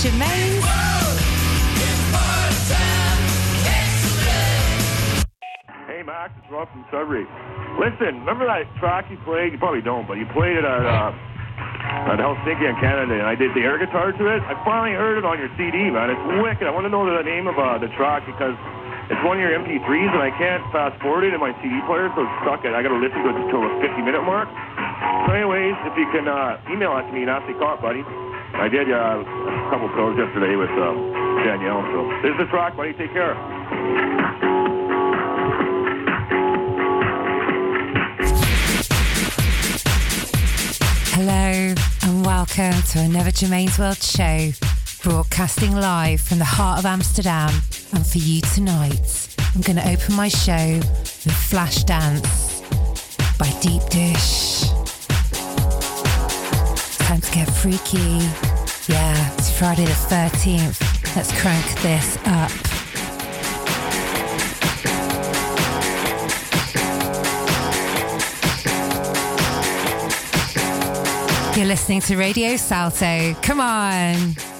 Germain's. Hey Max, it's Rob from Sudbury. Listen, remember that track you played? You probably don't, but you played it at Helsinki in Canada, and I did the air guitar to it. I finally heard it on your CD, man. It's wicked. I want to know the name of the track because it's one of your MP3s, and I can't fast forward it in my CD player, so it's stuck. I got to listen to it until the 50-minute mark. So anyways, if you can email it to me, nasty cop, buddy. I did a couple shows yesterday with Danielle, so this is the track, buddy. Take care. Hello and welcome to another Germain's World show, broadcasting live from the heart of Amsterdam. And for you tonight, I'm going to open my show with Flash Dance by Deep Dish. Time to get freaky. Yeah, it's Friday the 13th. Let's crank this up. You're listening to Radio Salto. Come on.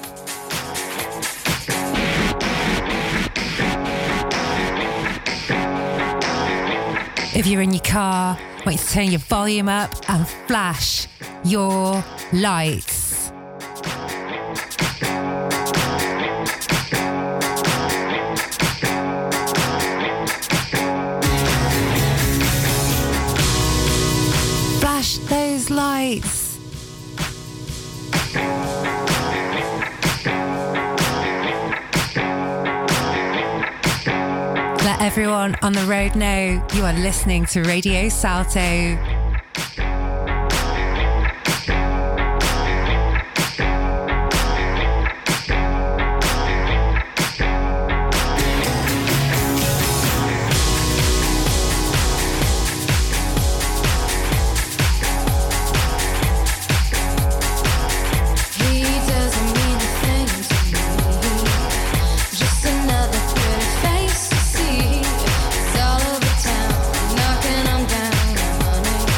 If you're in your car, wait to turn your volume up and flash your lights. Flash those lights. Let everyone on the road know you are listening to Radio Salto. All over town, knocking them down, honey.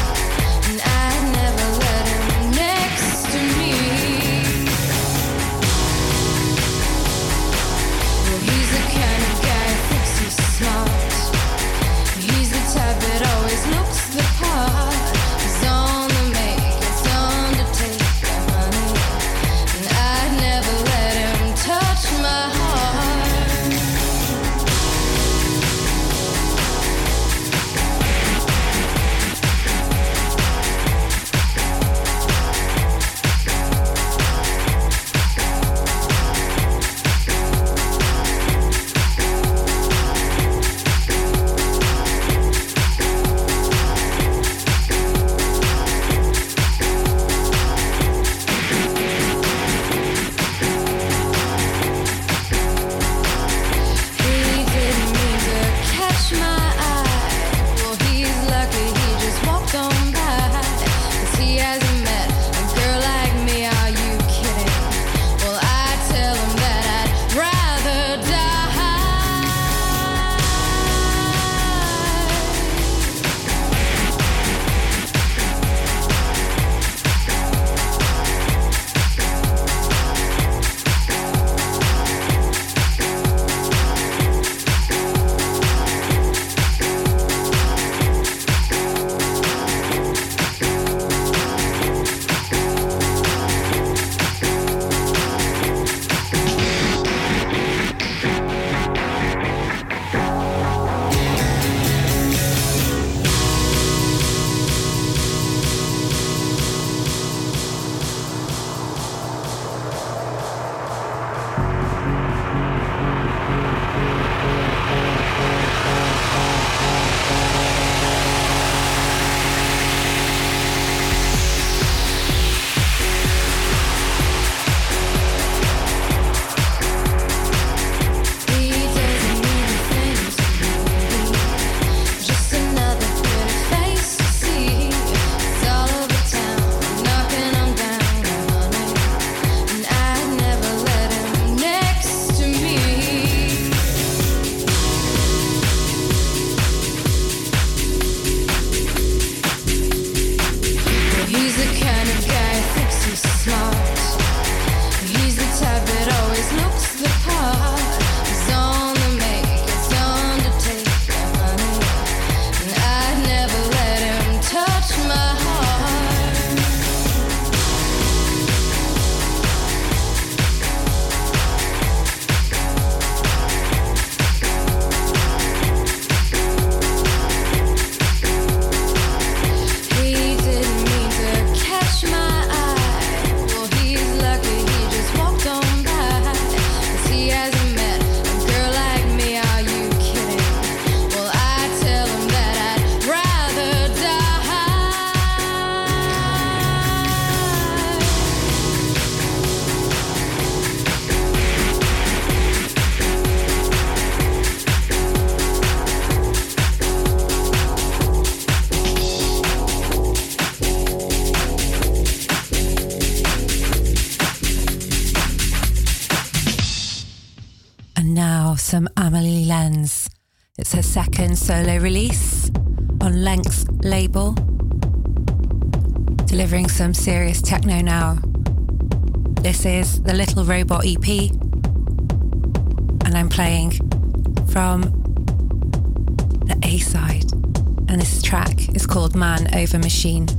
some Amelie Lenz. It's her second solo release on Length label, delivering some serious techno now. This is the Little Robot EP, and I'm playing from the A-side, and this track is called Man Over Machine.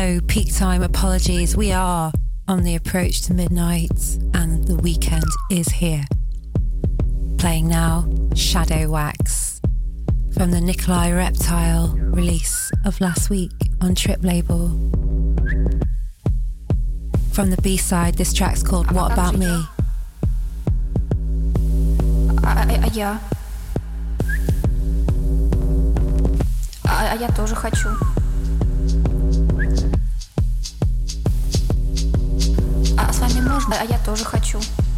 Hello, peak time apologies. We are on the approach to midnight and the weekend is here. Playing now, Shadow Wax from the Nikolai Reptile release of last week on Trip label. From the B-side, this track's called What About Me? Я тоже хочу. С вами можно? Я тоже хочу.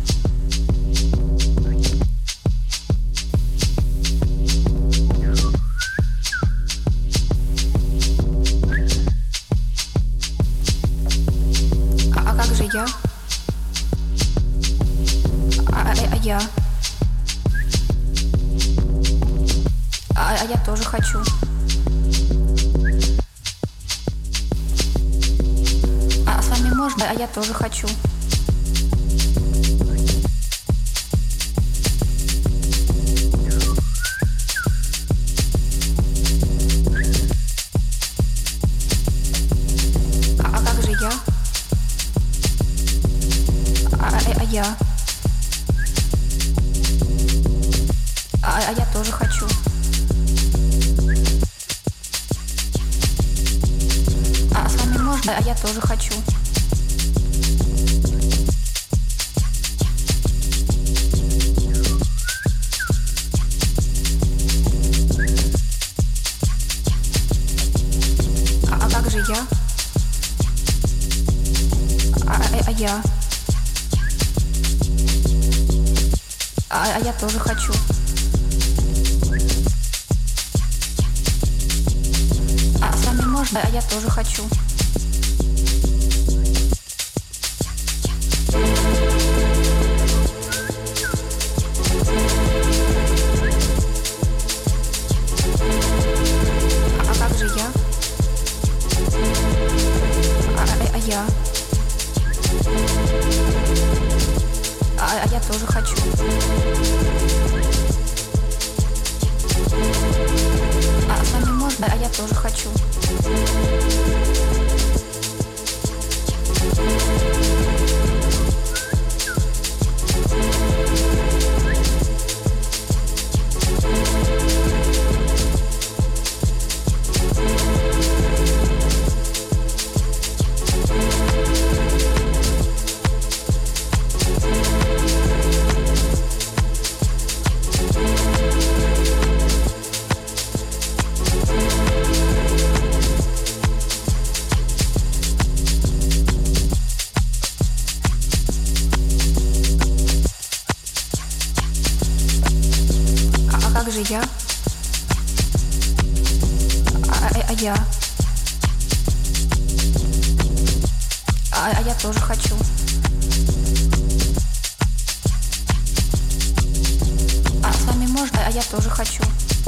Как же я? Я. Я тоже хочу. С вами можно? Я тоже хочу. Как же я? Я. Я тоже хочу. С вами можно? Я тоже хочу. Как же я? Я. Я тоже хочу. С вами можно? Я тоже хочу. Как же я? Я. Я тоже хочу. С вами можно? Я тоже хочу. Как же я? Я. Я тоже хочу. С вами можно? Я тоже хочу.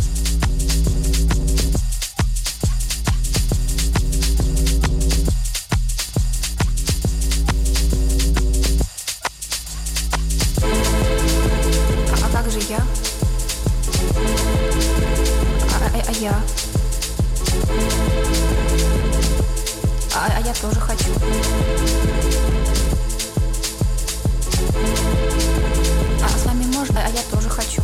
Как же я? Я. Я тоже хочу. С вами можно? Я тоже хочу.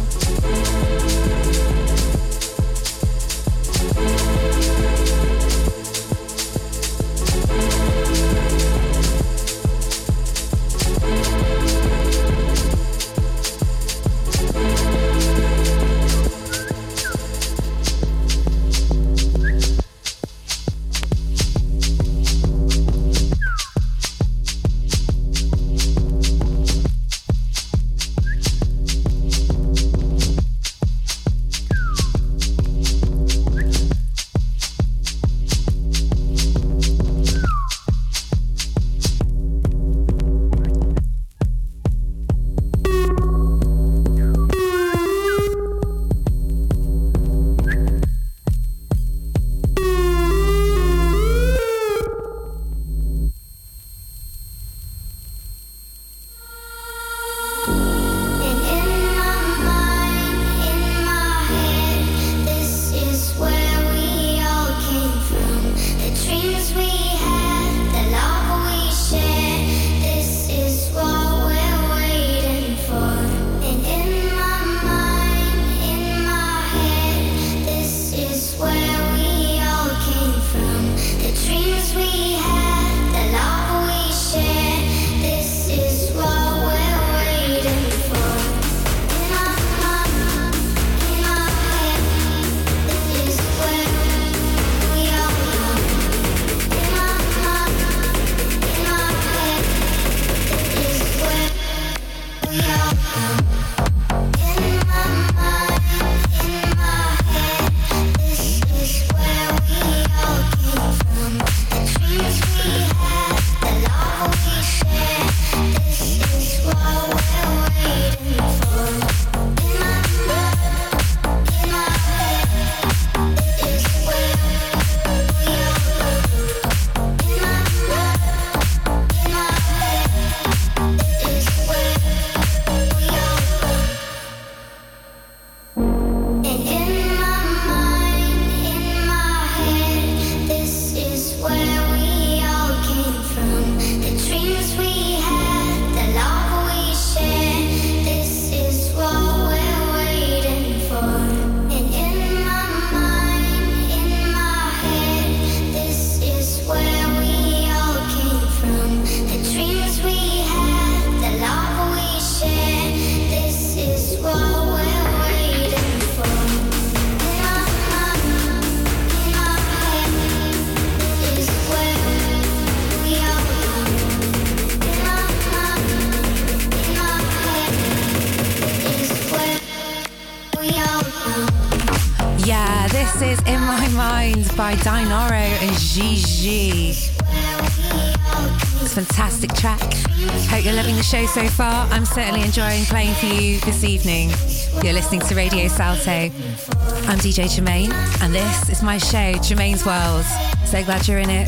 This is In My Mind by Dinoro and Gigi. It's a fantastic track. Hope you're loving the show so far. I'm certainly enjoying playing for you this evening. You're listening to Radio Salto. I'm DJ Germaine, and this is my show, Germaine's World. So glad you're in it.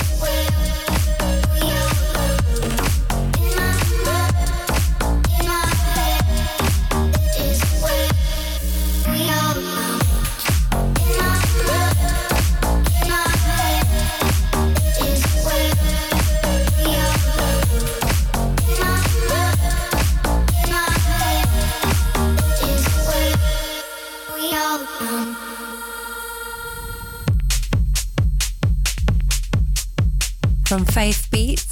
From Faith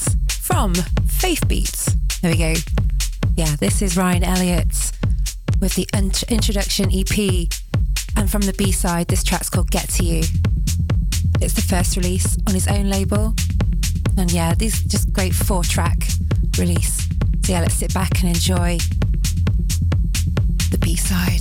Beats. There we go. Yeah, this is Ryan Elliott with the introduction EP. And from the B-side, this track's called Get To You. It's the first release on his own label. And yeah, this is just great 4-track release. So yeah, let's sit back and enjoy the B-side.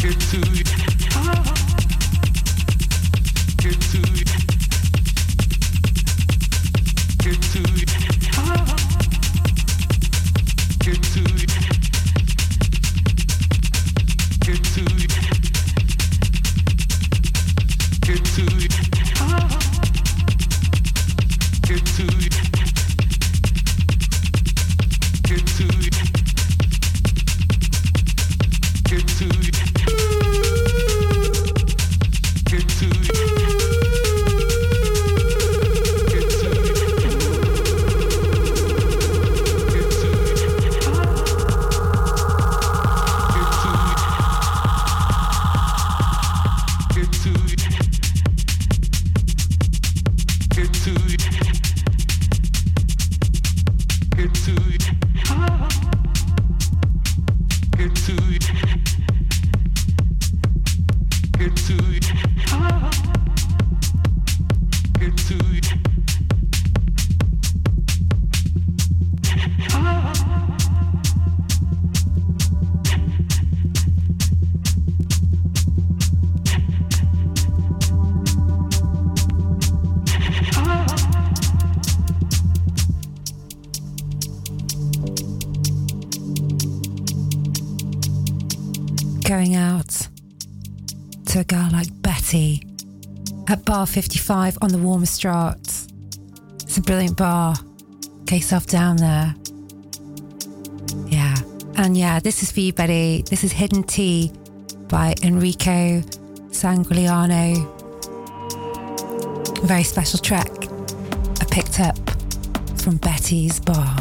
Going out to a girl like Betty at Bar 55 on the Warmostraat. It's a brilliant bar. Get yourself down there. Yeah. And yeah, this is for you, Betty. This is Hidden Tea by Enrico Sanguiliano. A very special track I picked up from Betty's bar.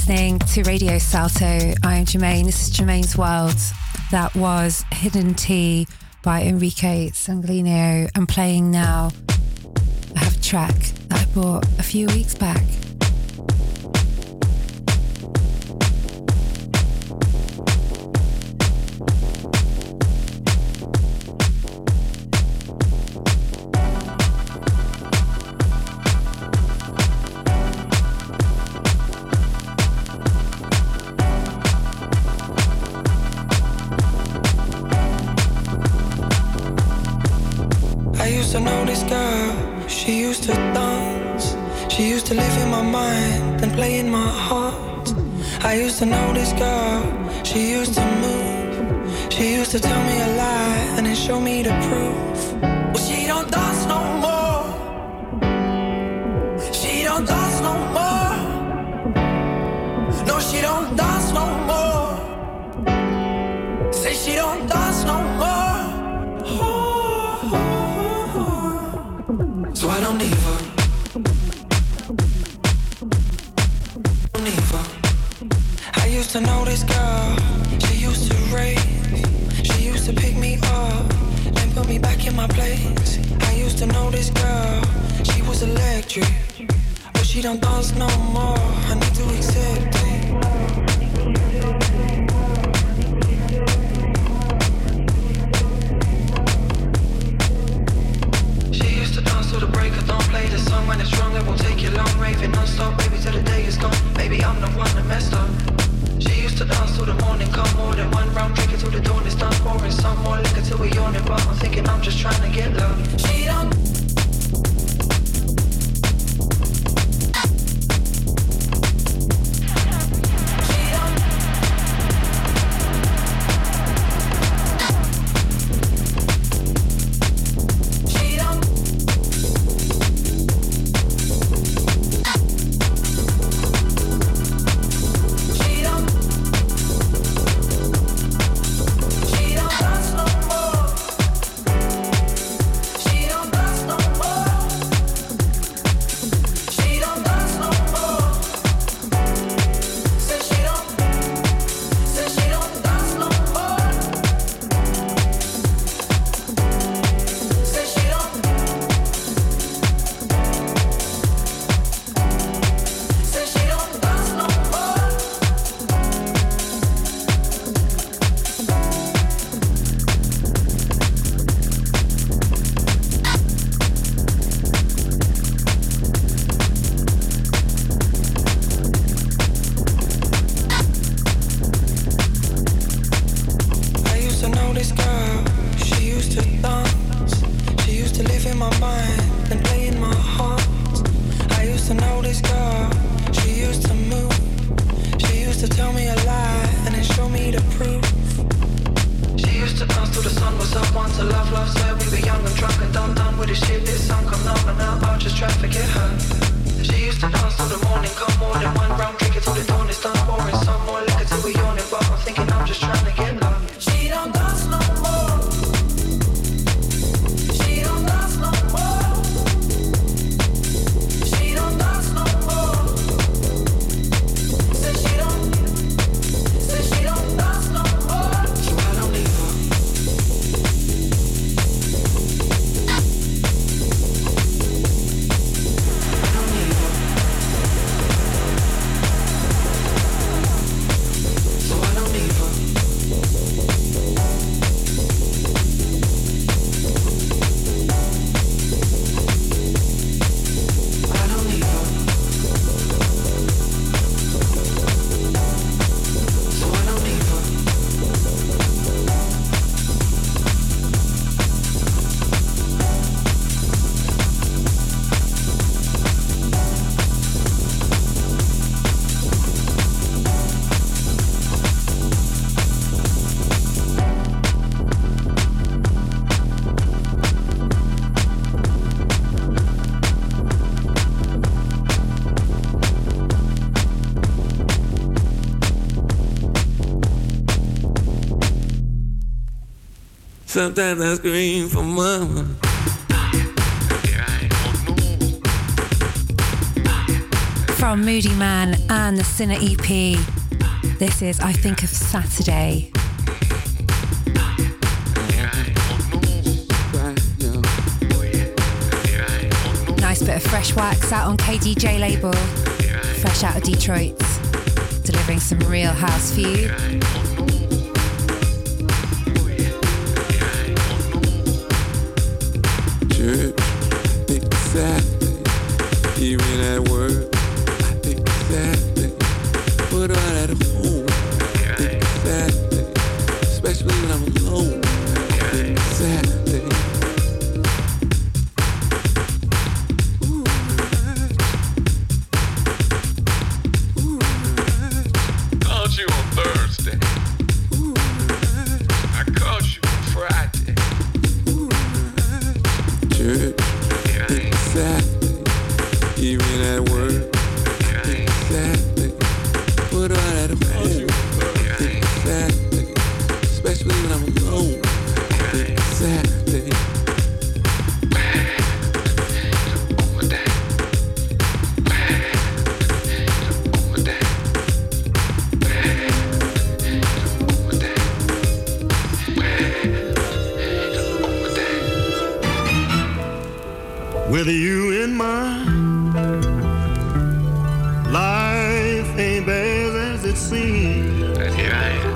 listening to Radio Salto. I am Jermaine. This is Jermaine's World. That was Hidden Tea by Enrique Sanguineo. And playing now, I have a track that I bought a few weeks back. She used to dance, she used to live in my mind and play in my heart. I used to know this girl, she used to move. She used to tell me a lie and then show me the proof. Well, she don't dance no more. She don't dance no more. No, she don't dance no more. Say she don't dance no more. So I don't need her. Don't need her. I used to know this girl. She used to raise. She used to pick me up, then put me back in my place. I used to know this girl. She was electric, but she don't dance no more. I need to accept it. Till the break of dawn, play the song when it's strong, it won't take you long, raving non-stop, baby, till the day is gone, baby, I'm the one that messed up. She used to dance till the morning come, more than one round, drink it till the dawn is done, pouring some more liquor till we yawning, but I'm thinking I'm just trying to get love. She don't. Sometimes I scream for mama. from Moody Man and the Sinner EP. This is I Think of Saturday. Nice bit of fresh wax out on KDJ label, fresh out of Detroit, delivering some real house for you. Church, I think it's Saturday, even at work, I think it's Saturday, what about at home, I think it's Saturday, especially when I'm alone, I think it's Saturday. With you in mind, life ain't bad as it seems. And here I am.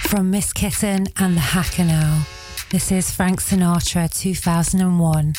From Miss Kitten and the Hackanal, this is Frank Sinatra 2001.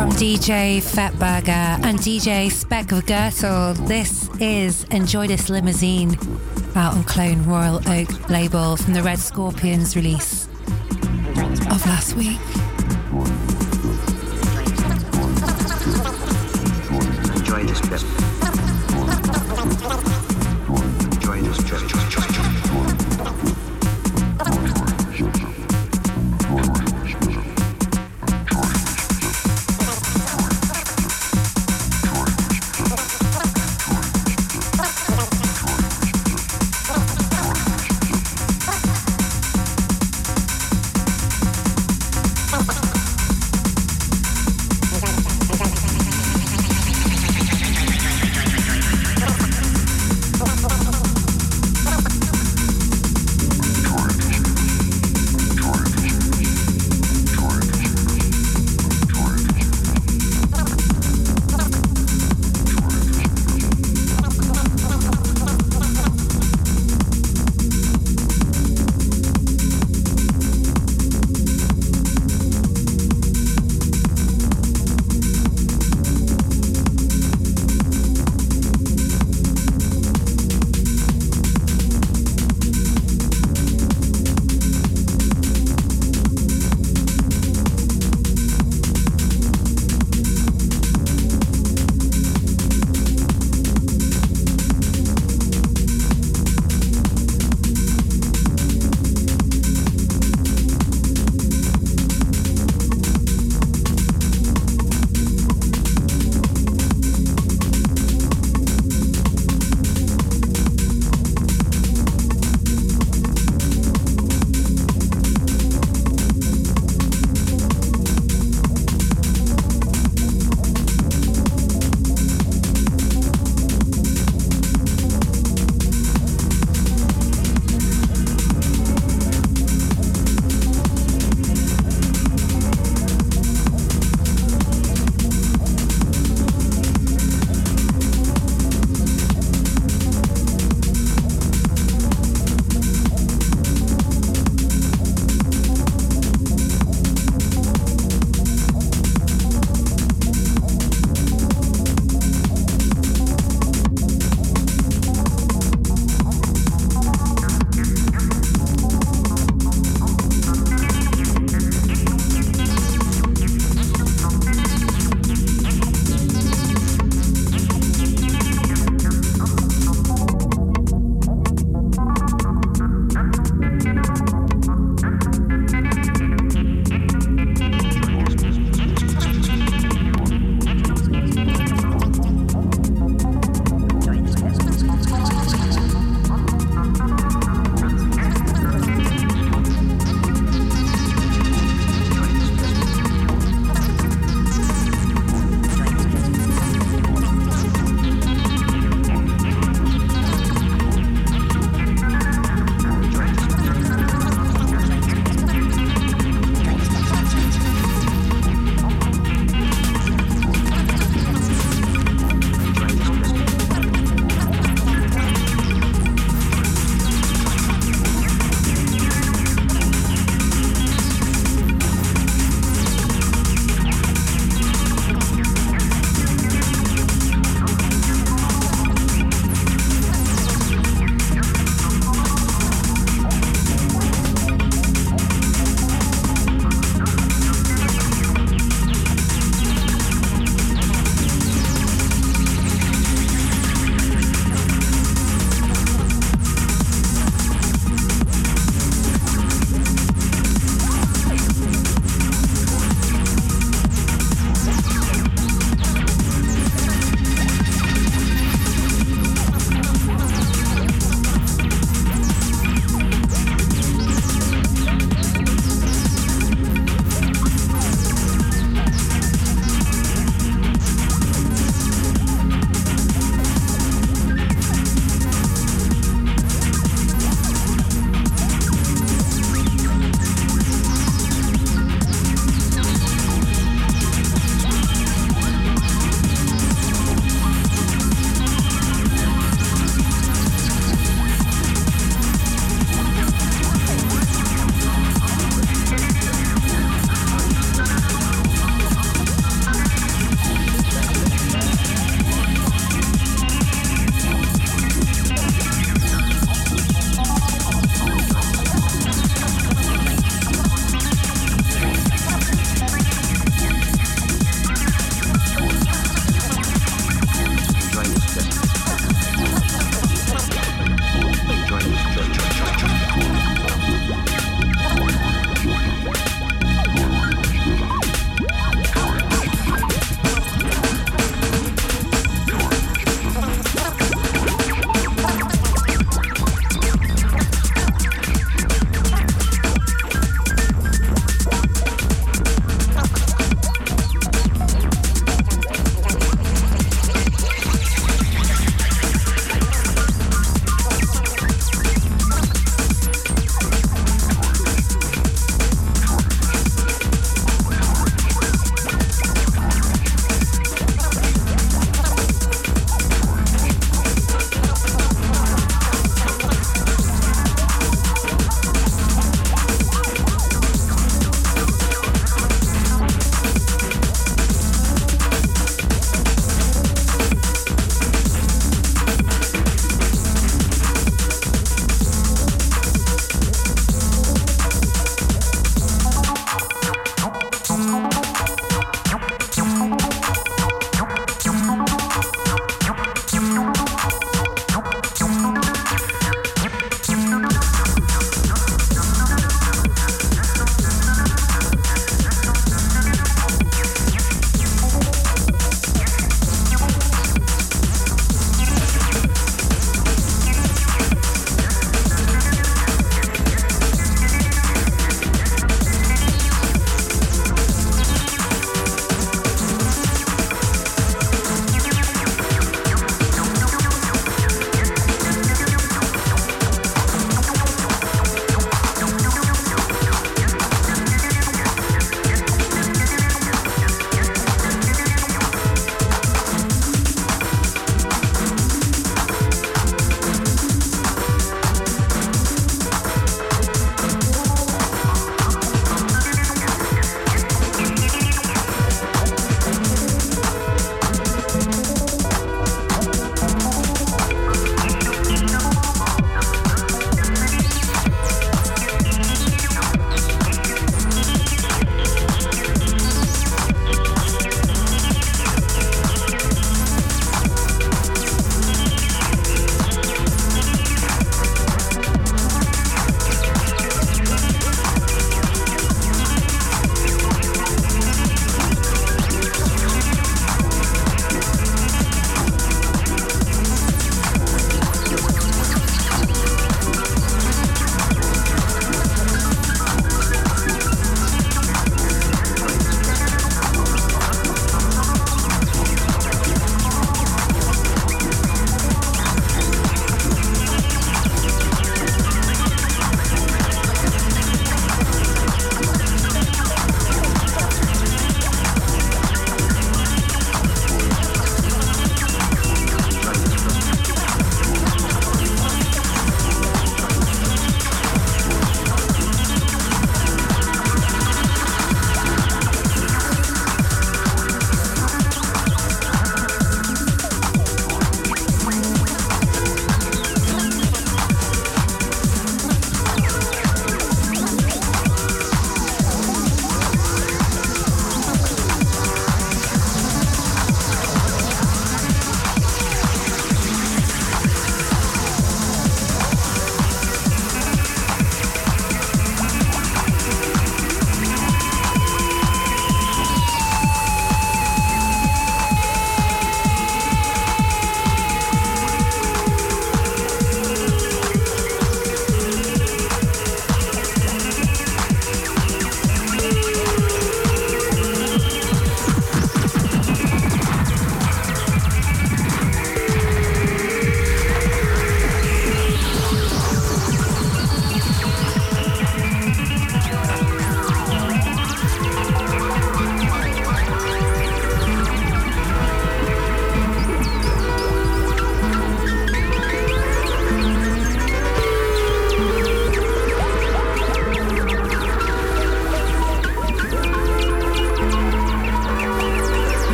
from DJ Fetburger and DJ Speck of Gertel. This is Enjoy This Limousine, out on Clone Royal Oak label from the Red Scorpions release of last week. Enjoy this trip. Enjoy this trip.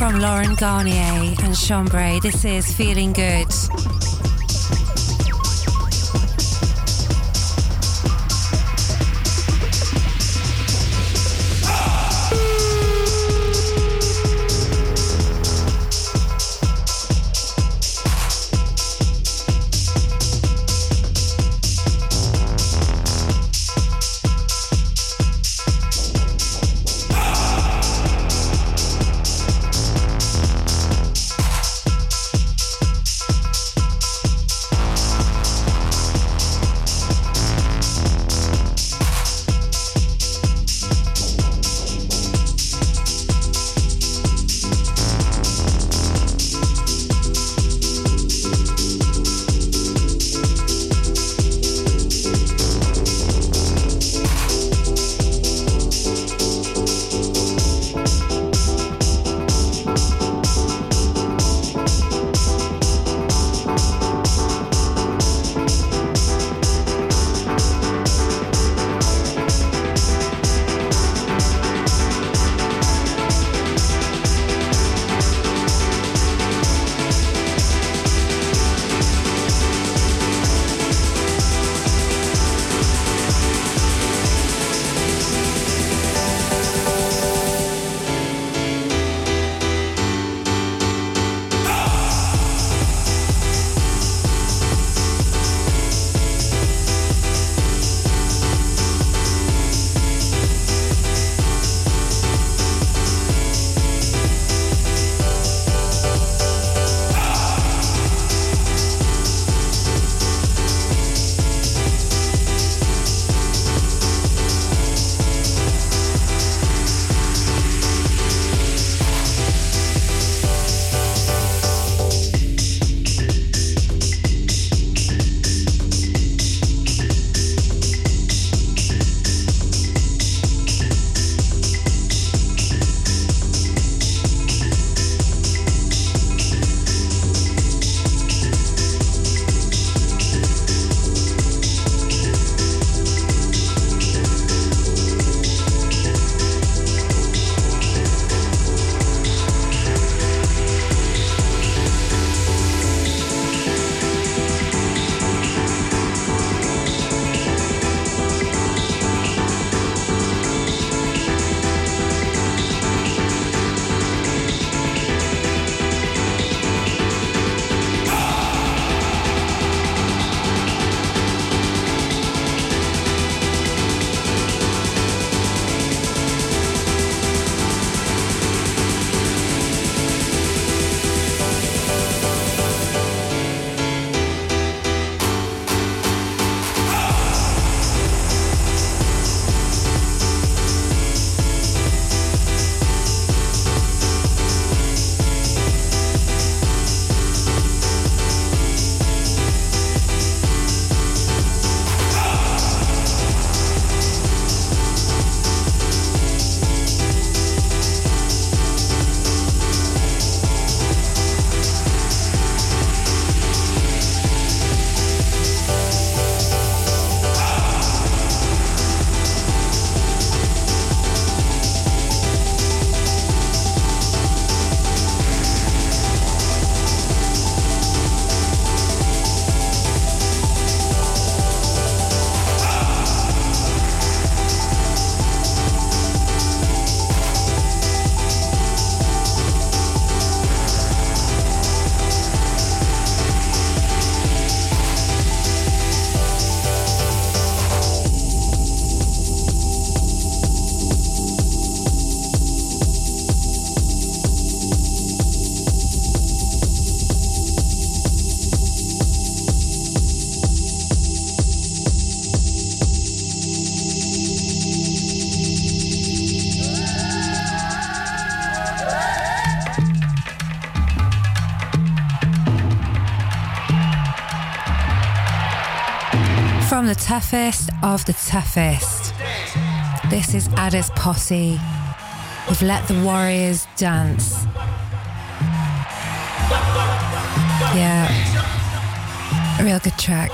from Lauren Garnier and Chambray. This is Feeling Good. From the toughest of the toughest, this is Addis Posse with Let the Warriors Dance. Yeah, a real good track.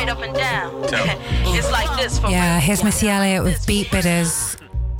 straight up and down. It's like this for Yeah, here's Missy Elliott with Beat Bidders.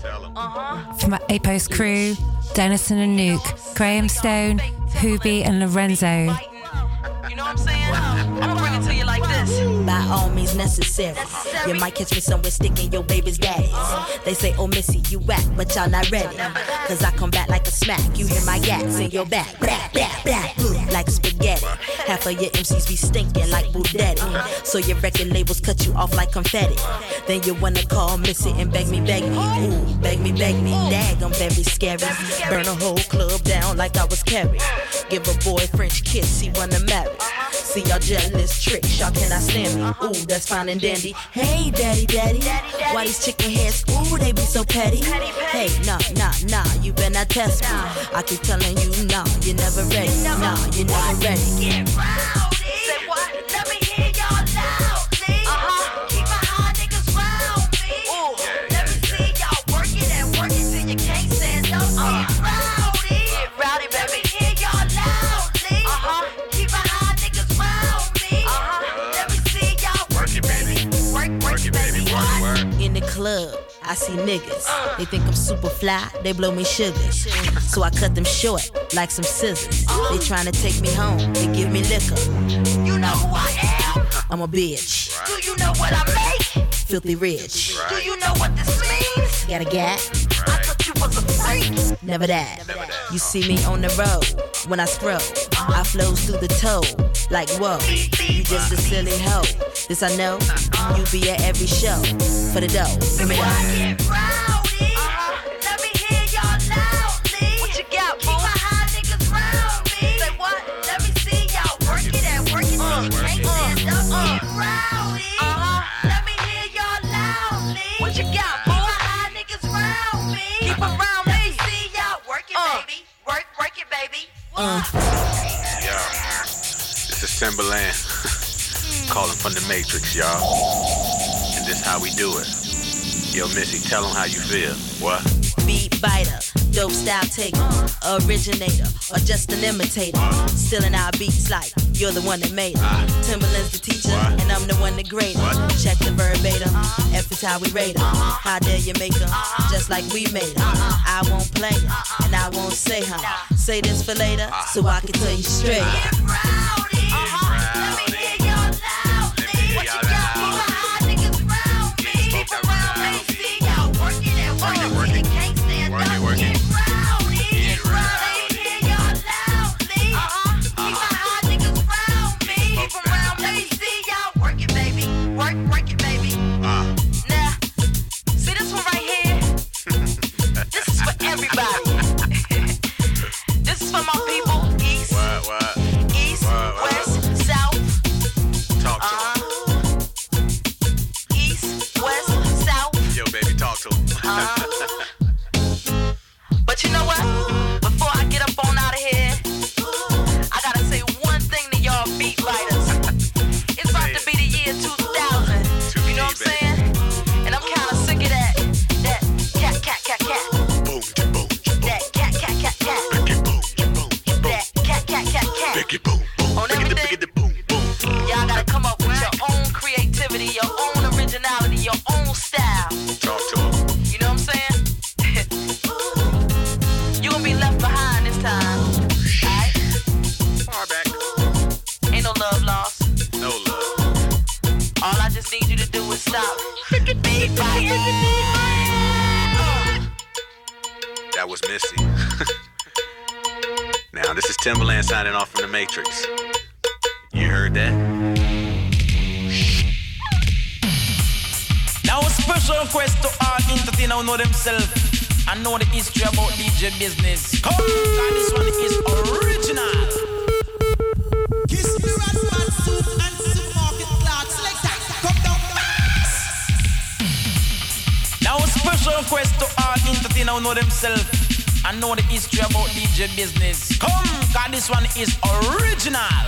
From our A-Post crew, Dennison and Nuke, Graham Stone, Hoobie and Lorenzo. You know what I'm saying? I'm gonna bring it to you like this. By all means necessary. You might catch me somewhere sticking your baby's daddies. They say, oh Missy, you whack, but y'all not ready. Cause I come back like a smack. You hear my gas in your back. Blah, blah, blah. Like spaghetti. Half of your MCs be stinking like Budetti. So your record labels cut you off like confetti. Then you wanna call Missy and beg me. Ooh, beg me. Dag, I'm very scary. Burn a whole club down like I was Carrie. Give a boy a French kiss, he wanna marry. See y'all jealous tricks, y'all cannot stand me. Ooh, that's fine and dandy. Hey, daddy. Why these chicken heads, ooh, they be so petty. Hey, nah, you better not test me. I keep telling you, nah, you're never ready. Nah, you're never ready. Get rowdy. Say what? Let me hear y'all loudly. Keep my high niggas round me. Ooh, let me see y'all work it till you can't stand up. Get rowdy, baby. Let me hear y'all loudly. Keep my high niggas round me. Let me see y'all work it, baby. Work it, baby. Work. In the club, I see niggas. They think I'm super fly, they blow me sugar. So I cut them short like some scissors. They tryna take me home, they give me liquor. You know who I am? I'm a bitch, Do you know what I make? filthy rich. Do you know what this means? Got a gap? I thought you was a freak. Never that. You see me on the road when I scroll. I flows through the toe like whoa. You just a silly hoe. This I know. You be at every show for the dough. Give me that. Get rowdy. Let me hear y'all loudly. What you got, boo? Keep my high niggas round me. Say what? Let me see y'all work it till you can't stand up. Get rowdy. Let me hear y'all loudly. What you got, boo? Keep my high niggas round me. Keep around me. Let me see y'all work it, baby. Work it, baby. Yo, this is Timberland. Calling from the Matrix, y'all. And this how we do it. Yo, Missy, tell them how you feel. What? Beat biter, dope style taker, originator, or just an imitator. Stealing our beats like you're the one that made it. Timberland's the teacher, and I'm the one that graded. Check the verbatim, F is how we rate them. How dare you make them, just like we made them. I won't play them, and I won't say huh. Say this for later, so I can tell you straight. Get rowdy. Let me hear y'all loudly. What you got? Keep my high niggas round me. Keep around me. See y'all work it till you can't stand up. Get rowdy. Let me hear y'all loudly. Keep my high niggas round me. Keep around me. Let me see y'all work it, baby. Work it, baby. Now, see this one right here? This is for everybody. This is for my people, East, West, South. Talk to him. East, West, South. Yo, baby, talk to him. But you know what? Before I get up on out of here, I gotta say one thing to y'all beat writers. It's about to be the year 2000. You know what I'm saying? And I'm kinda sick of that cat. Boom, boom, That cat. That cat. On everything. Y'all gotta come up with your own creativity, your own originality, your own style. Talk to him. You know what I'm saying? You gonna be left behind this time. Alright? Far back. Ain't no love lost. No love. All I just need you to do is stop. Big fire. That was Missy. Now, this is Timberland signing off from the Matrix. You heard that? Now a special request to all entertainers who know themselves and know the history about DJ business. Come, and this one is original. Kiss me rat suit and supermarket clocks like that. Come down fast. Now a special request to all entertainers who know themselves and know the history about DJ business. Come, cause this one is original.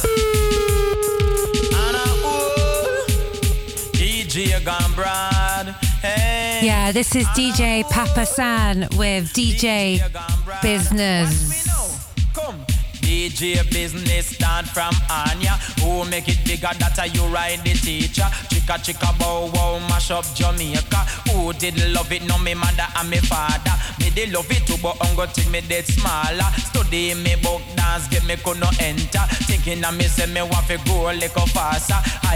DJ gone broad. Hey. Yeah, this is DJ Papa San with DJ Business. Come, DJ DJ business start from Anya. Who make it bigger, that you ride the teacher. Chicka chicka bow wow, mash up Jamaica. Who did love it, no me mother and me father. Me they love it too, but I'm gonna take me dead smaller. Study me book dance, get me could no enter. Thinking of me say me want to go a little faster.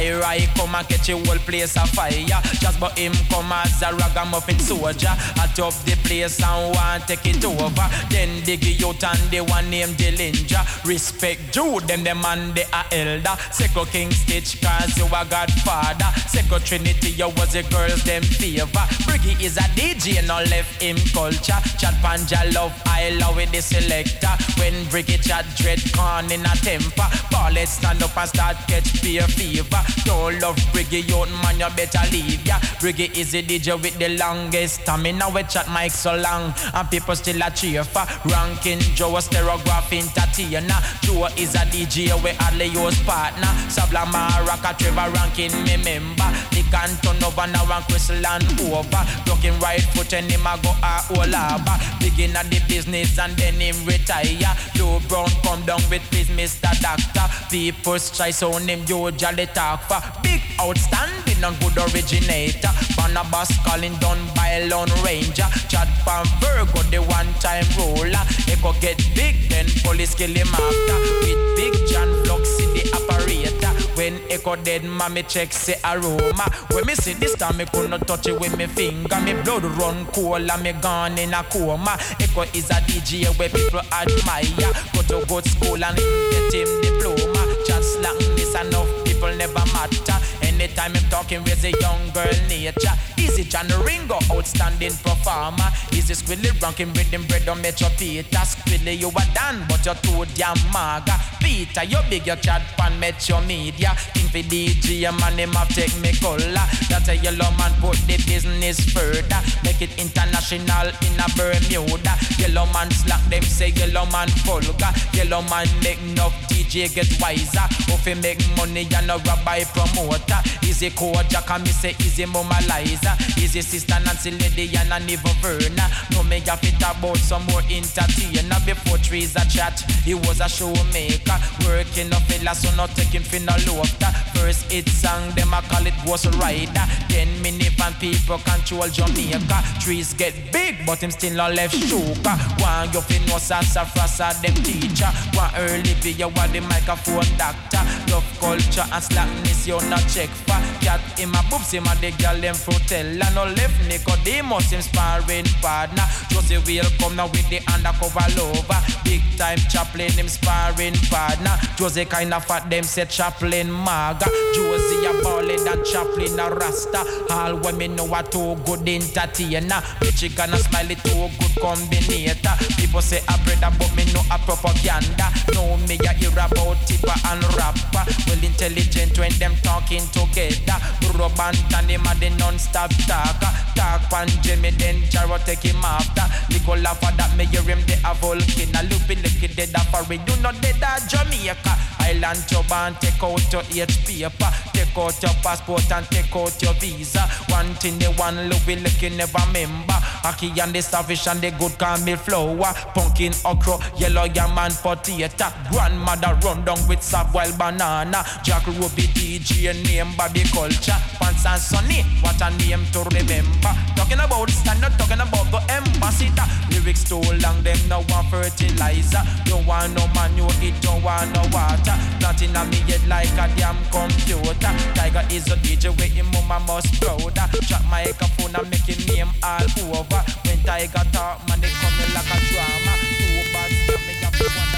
I come and catch a whole place a fire. Just but him come as a ragamuffin soldier. I top the place and want take it over. Then dig you out and the one named Dillinger. Respect Jude, them the man they are elder. Second King Stitch cause you a godfather. Second Trinity you was the girls them favor. Briggy is a DJ no left him culture. Chat Panja love I love with the selector. When Briggy chat dread con in a temper. Ballets stand up and start catch beer fever. Don't love Briggy out man you better leave ya. Briggy is the DJ with the longest stamina. We chat mic so long and people still a cheer for. Ranking Joe a stereograph entertainer. Joe is a DJ we hardly use partner. Sabla Maraka Trevor Rankin me member. He can turn over now and Crystal and over. Looking right foot and him a go a Olaba. Begin at the business and then him retire. Joe Brown come down with his Mr. Doctor. People try so him usually talk for. Big outstanding and good originator. Barnabas calling down by Lone Ranger. Chad Pan Virgo the one time roller. He go get big then police kill him after. With Big John Flux in the operator. When Echo dead, mommy check say aroma. When me see this time, me could not touch it with me finger. Me blood run cold and me gone in a coma. Echo is a DJ where people admire. Go to good school and get him diploma. Chat slang this enough people never matter. Anytime I'm talking with a young girl nature. Easy John Ringo, outstanding performer. Easy Squilly ranking rhythm bread on Metro Peter. Squilly you are done, but you're too damn maga. Peter, you big your chat pan Metro Media. King for DJ, man, him have take me color. That's a yellow man put the business further. Make it international in a Bermuda. Yellow man slack them say yellow man vulgar. Yellow man make enough DJ get wiser. If he make money and a rabbi promoter. Easy Kojak and me say easy Mama Liza. Easy Sister Nancy Lady and even Verna. No me have it about some more entertainer. Before trees a chat, he was a showmaker. Working a fella so not taking for no laughter. First hit song, them a call it Ghost Rider. 10 minutes and people control Jamaica. Trees get big but him still not left shoker. One you fi know Sasa Frasa them teacher. One early video what the microphone doctor. Love culture and slackness you not check for. Cat him a boobs him a the girl them frutella. No left Nicodemus him sparring partner. Josie will come now with the undercover lover. Big time Chaplin him sparring partner. Josie kinda fat them say Chaplin maga. Josie a ballin' and Chaplin a rasta. All women know a too good entertainer. Michigan a smiley too good combinator. People say a brother but me know a propaganda. Know me a hear about tipper and rapper. Well intelligent when them talking together. Rub and tan him a the non-stop talker. Talk pan Jimmy then Jaro take him after. Nicola for that me hear him the a volcano. Loopy licky dead a for it. You know dead a Jamaica. Island job and take out your H paper. Take out your passport and take out your visa. One thing they want loopy licky never remember. Aki and the savage and the good caramel flour. Pumpkin okra, yellow yam and potato. Grandmother run down with soft-boiled banana. Jack Ruby DJ name Bobby Culture. Pants and Sonny, what a name to remember. Talking about standard, talking about the ambassador. Lyrics too long, them no one fertilizer. Don't want no man, you eat, don't want no water. Nothing on me yet like a damn computer. Tiger is a DJ where him mama must prouder. Drop my microphone and make him name all over. When Tiger talk, man, they coming like a drama. Too bad, me up to wonder.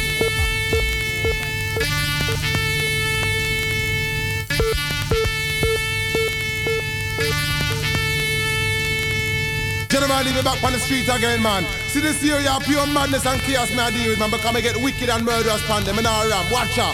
General, leave me back on the street again, man. See this year, you have pure madness and chaos me I deal with, man, because I get wicked and murderous upon them, and I ram. Watch out.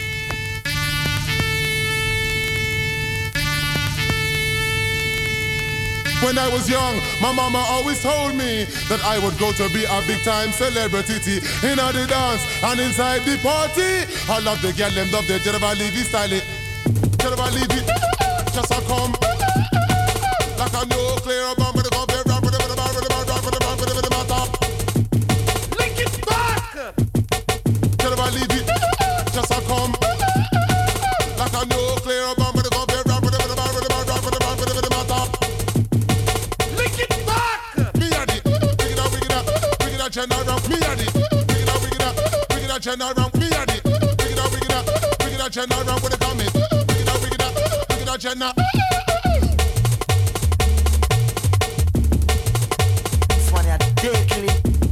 When I was young, my mama always told me that I would go to be a big-time celebrity in the dance and inside the party. I love the girl, them love the General Levy style. General Levy, just a come like a nuclear bomb. Link it back. general, me and it. Wicked general with the comment. Wicked general. This one is deadly.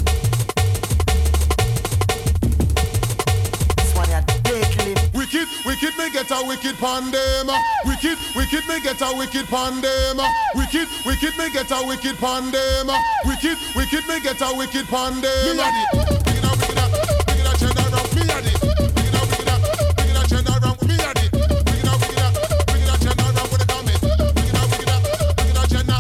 This one is deadly. Wicked me get a wicked pandem. Wicked me get a wicked pandem. Wicked me get a wicked pandem. Wicked me get a wicked pandem. Me and it. Wicked general, me and it. Wicked general, me and it. Wicked general with the comment. Wicked general.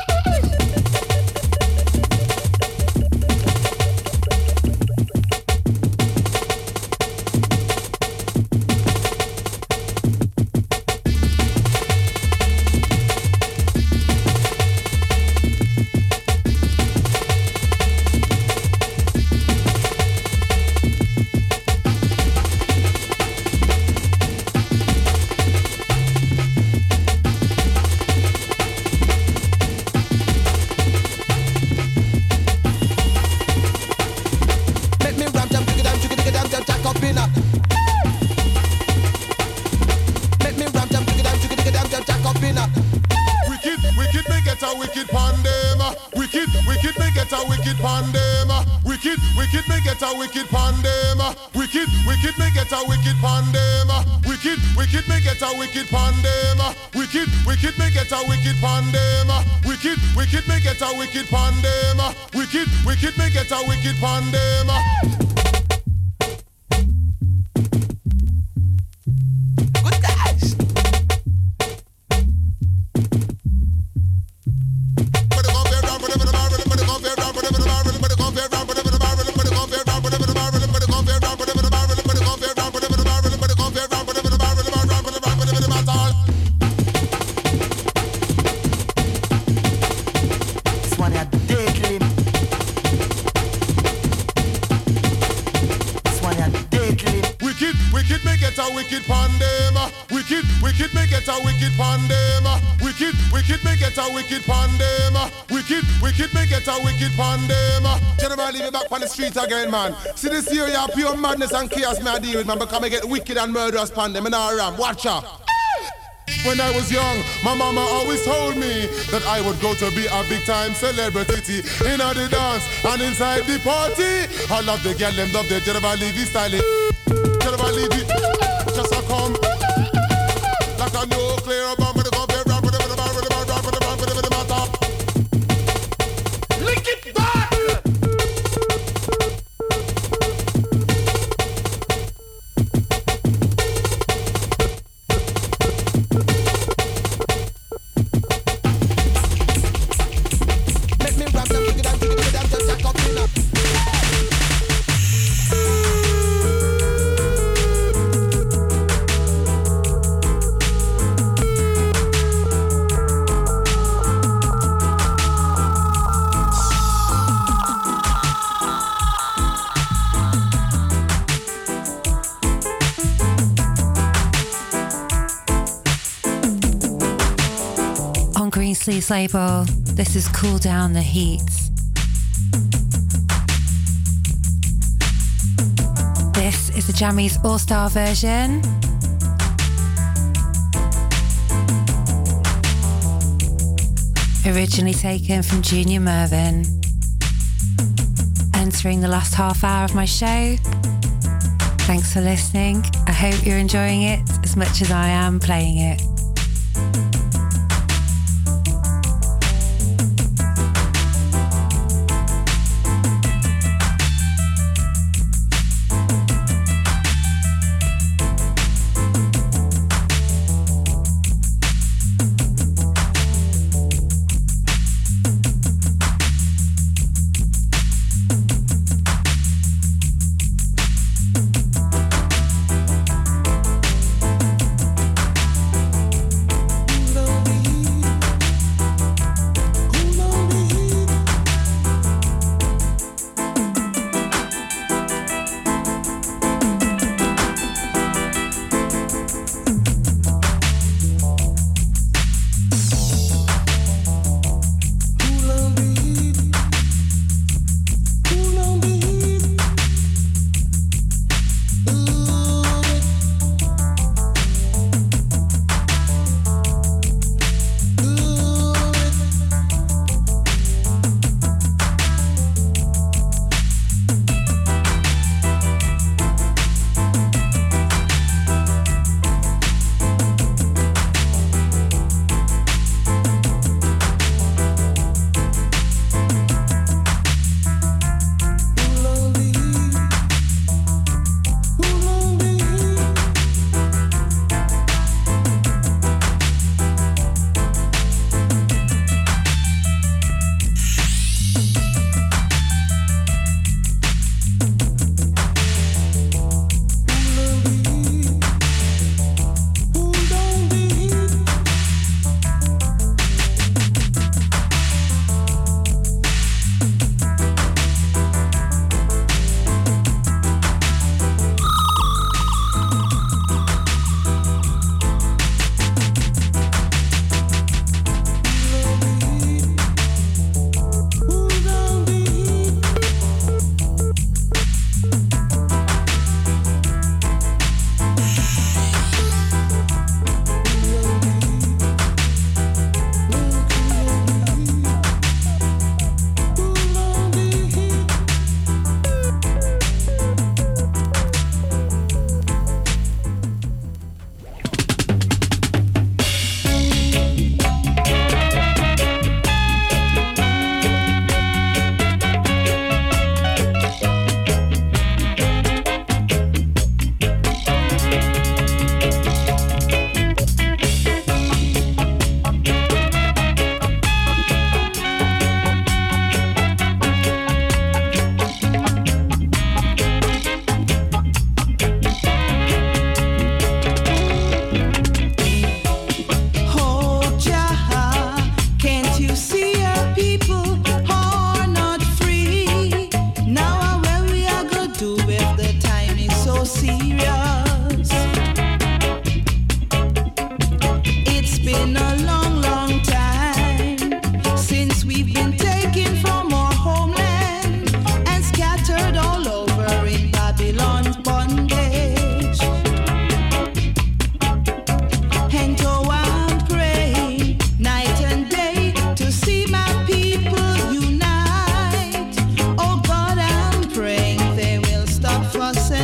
Wicked me get a wicked pandem. Wicked me get a wicked pandem. Wicked me get a wicked pandem. Wicked me get a wicked pandem. Wicked me get a wicked pandem. Wicked me get a wicked pandem. Good guys. Wicked me get a wicked pandem. Wicked me get a wicked pandem. Wicked me get a wicked pandem. Wicked me get a wicked pandem. General, leave it back on the street again, man. See this here, you pure madness and chaos me I deal with, man. Because I get wicked and murderous pandem in our ram. Watch out. When I was young, my mama always told me that I would go to be a big time celebrity in the dance and inside the party. I love the girl, them love the General Levy style. General Levy, just a come like a nuclear bomb with a gun, with the matter. Lick it back. Make me rap them, dig it down, just jack up in up. Greensleeves label, this is Cool Down the Heat. This is the Jammies All-Star version. Originally taken from Junior Mervin. Entering the last half hour of my show. Thanks for listening. I hope you're enjoying it as much as I am playing it.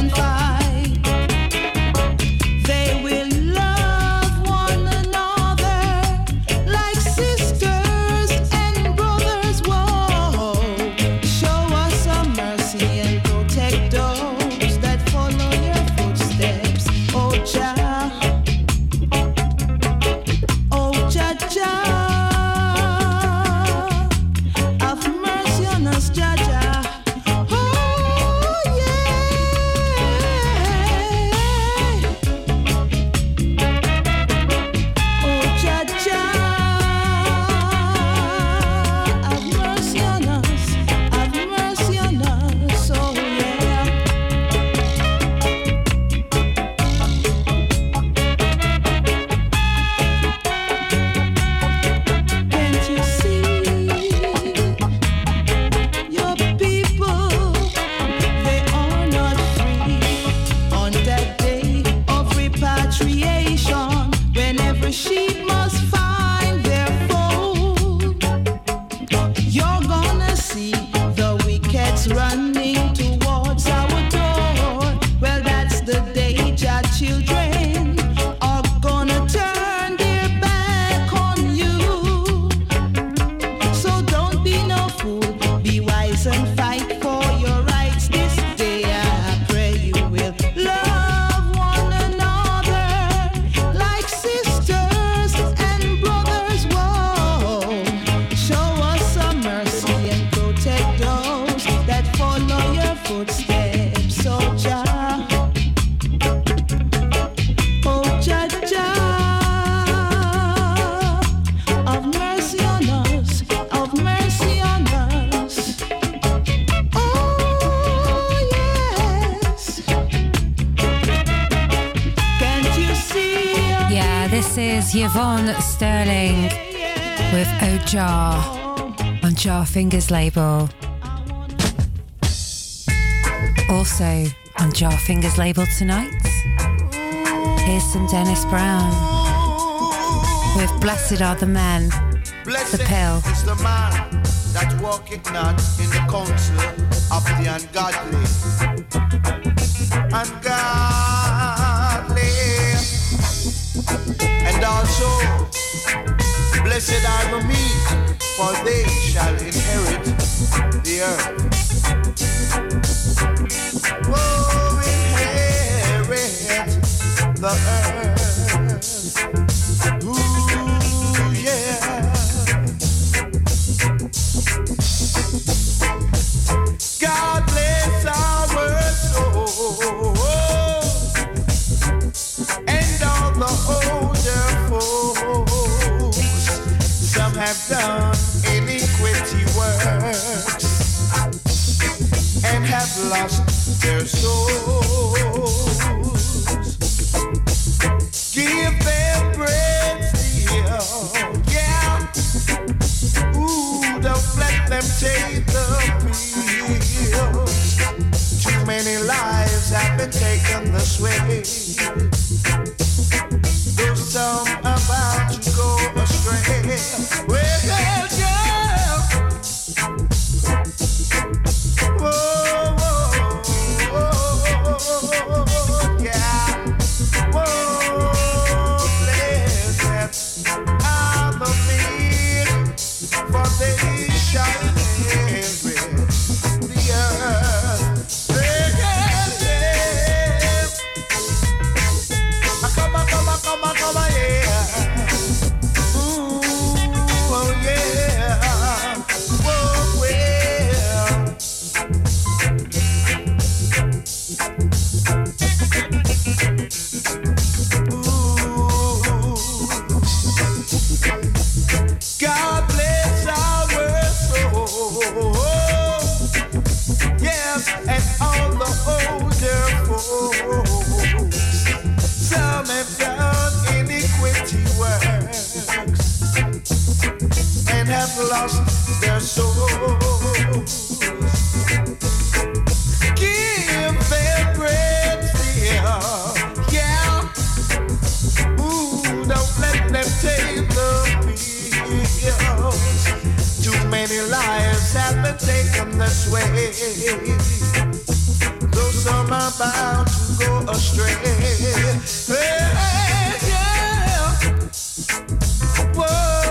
and fight. They will love one another like sisters and brothers. Whoa, show us some mercy and protect those that follow your footsteps. Oh, Jah, oh, Jah, Jah, have mercy on us, Jah, Jah. Sheep must find their fold. You're gonna see the wickeds running towards our door. Well, that's the day Jah children are gonna turn their back on you. So don't be no fool, be wise and fight for your rights this day. I pray you will love one another like sisters and brothers. Whoa, show us some mercy and protect those that follow your footsteps. Oh, Jah, oh, Jah, Jah, have mercy on us, have mercy on us. Oh, yes. Can't you see? Yeah, this is Yvonne Sterling with Oh Jah on Jar Fingers label. Also on Jar Fingers label tonight, here's some Dennis Brown with Blessed Are the Men, Blessed The Pill. is the man that walketh not in the counsel of the ungodly. Ungodly. And also, blessed are the meek, for they shall inherit the earth. Oh, inherit the earth. Ooh, yeah. God bless our soul and all the older folks. Some have done iniquity works and have lost their souls. Give them bread still, yeah. Ooh, don't let them take the pills. Too many lives have been taken this way. Though some about to go astray. Well, girl, whoa, yeah. Whoa, blessed are the meek, for they shall inherit the earth. Come on, yeah. Ooh, oh yeah. Whoa, well. God bless our soul, yes, and all the older folks. Some have done iniquity works and have lost their souls. Give them bread still, yeah. Ooh, don't let them take the pills. Too many lives have been taken this way. Though some are about to go astray. Hey, yeah. Whoa,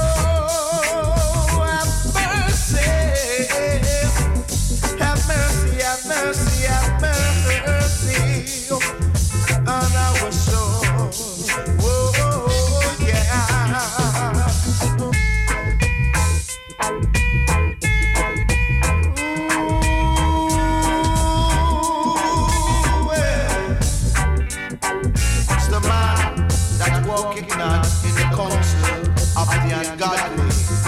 have mercy. Have mercy, have mercy, have mercy on our soul. Whoa, yeah. Walking not in the council of the ungodly.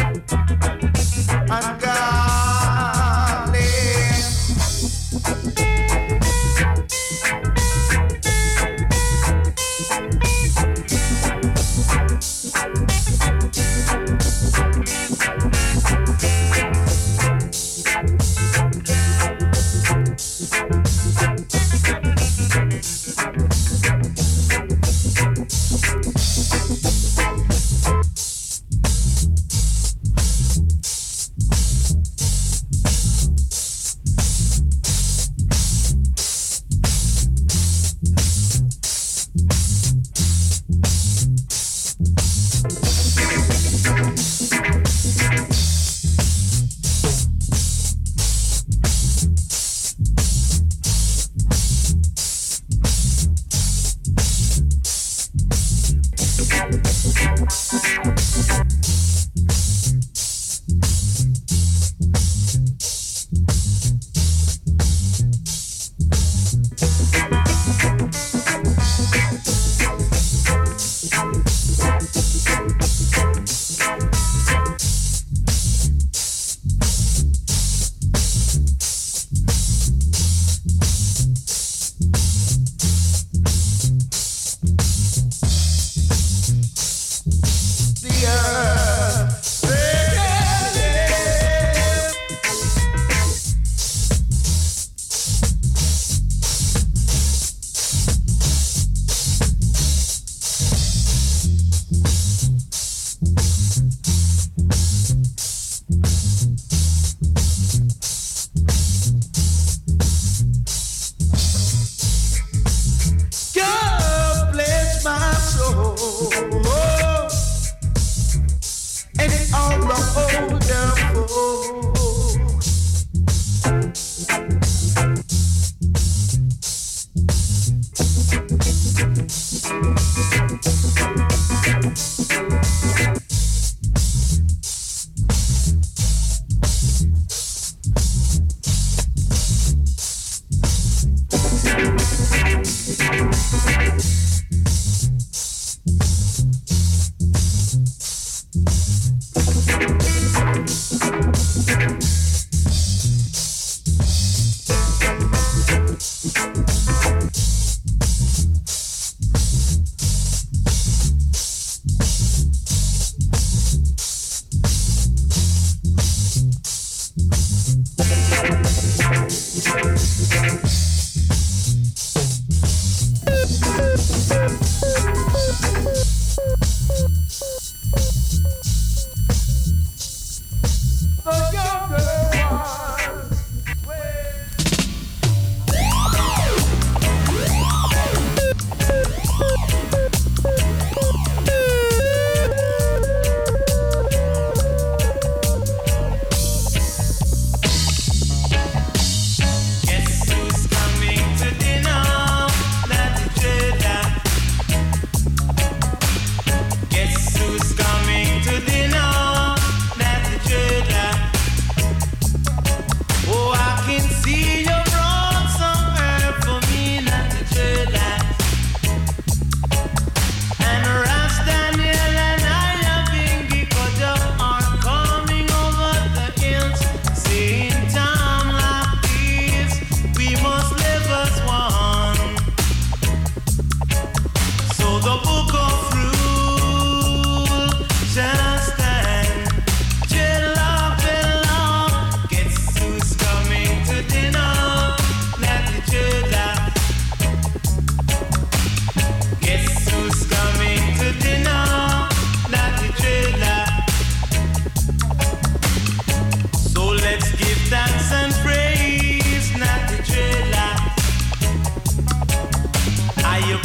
Ungodly.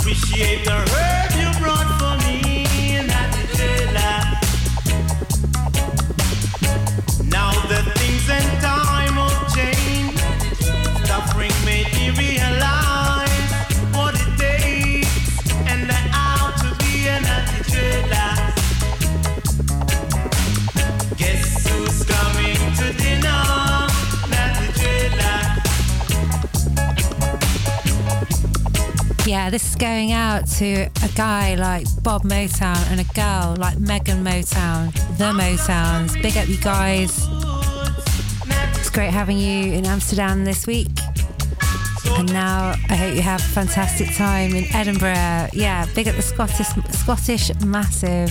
appreciate the herb you brought for me in that trailer. Now the things and time have changed. Suffering made me realize what it takes, and that how to be an anti-trailer. Guess who's coming to dinner? Yeah, this is going out to a guy like Bob Motown and a girl like Megan Motown, the Motowns. Big up you guys. It's great having you in Amsterdam this week. And now I hope you have a fantastic time in Edinburgh. Yeah, big up the Scottish Massive.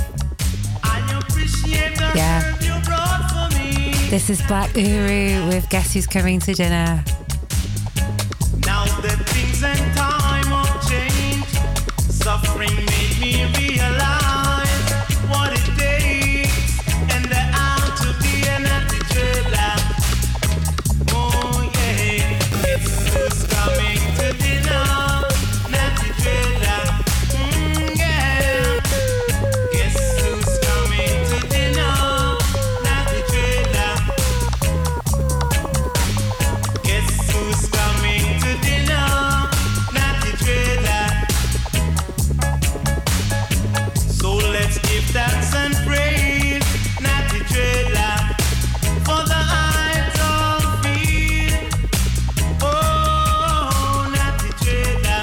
Yeah. This is Black Uru with Guess Who's Coming to Dinner. Now the things and time have changed. Suffering made me realize what it takes, and the how to be an anti-trailer. Oh yeah, guess who's coming to dinner? Anti-trailer. Yeah. Guess who's coming to dinner? Anti-trailer. Guess who's coming to dinner? Anti-trailer. So let's give thanks and praise, Natty Trailer, for the idol field. Oh, Natty Trailer.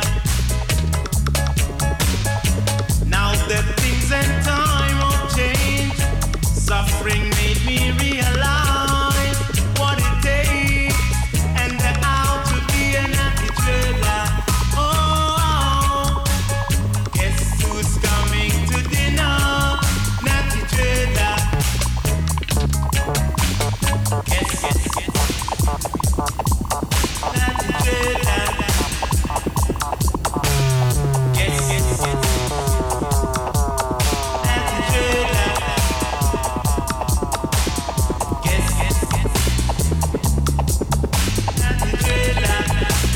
Now that things and time have changed, suffering made me realize what it takes, and the how to be a Natty Trailer. Oh, guess who's coming to dinner? Natty Trailer. Guess. Natty Trailer. Guess. Natty Trailer. Guess. Natty Trailer.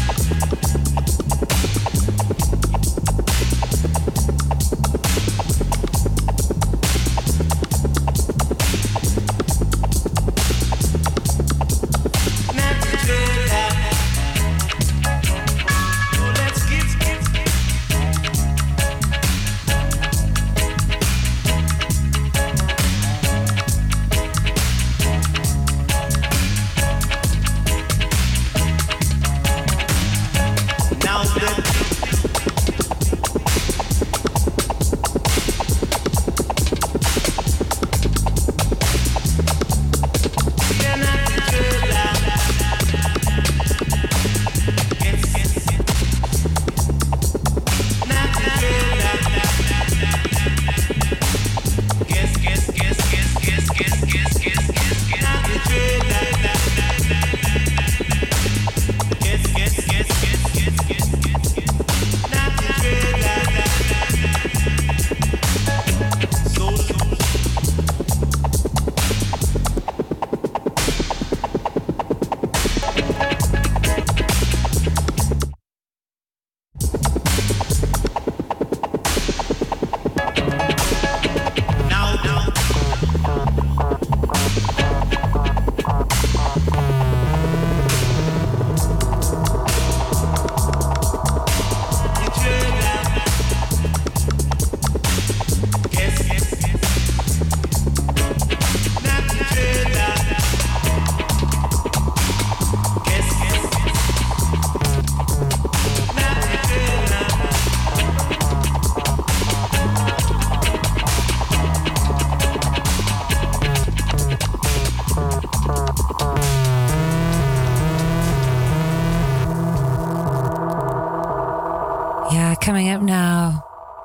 Coming up now,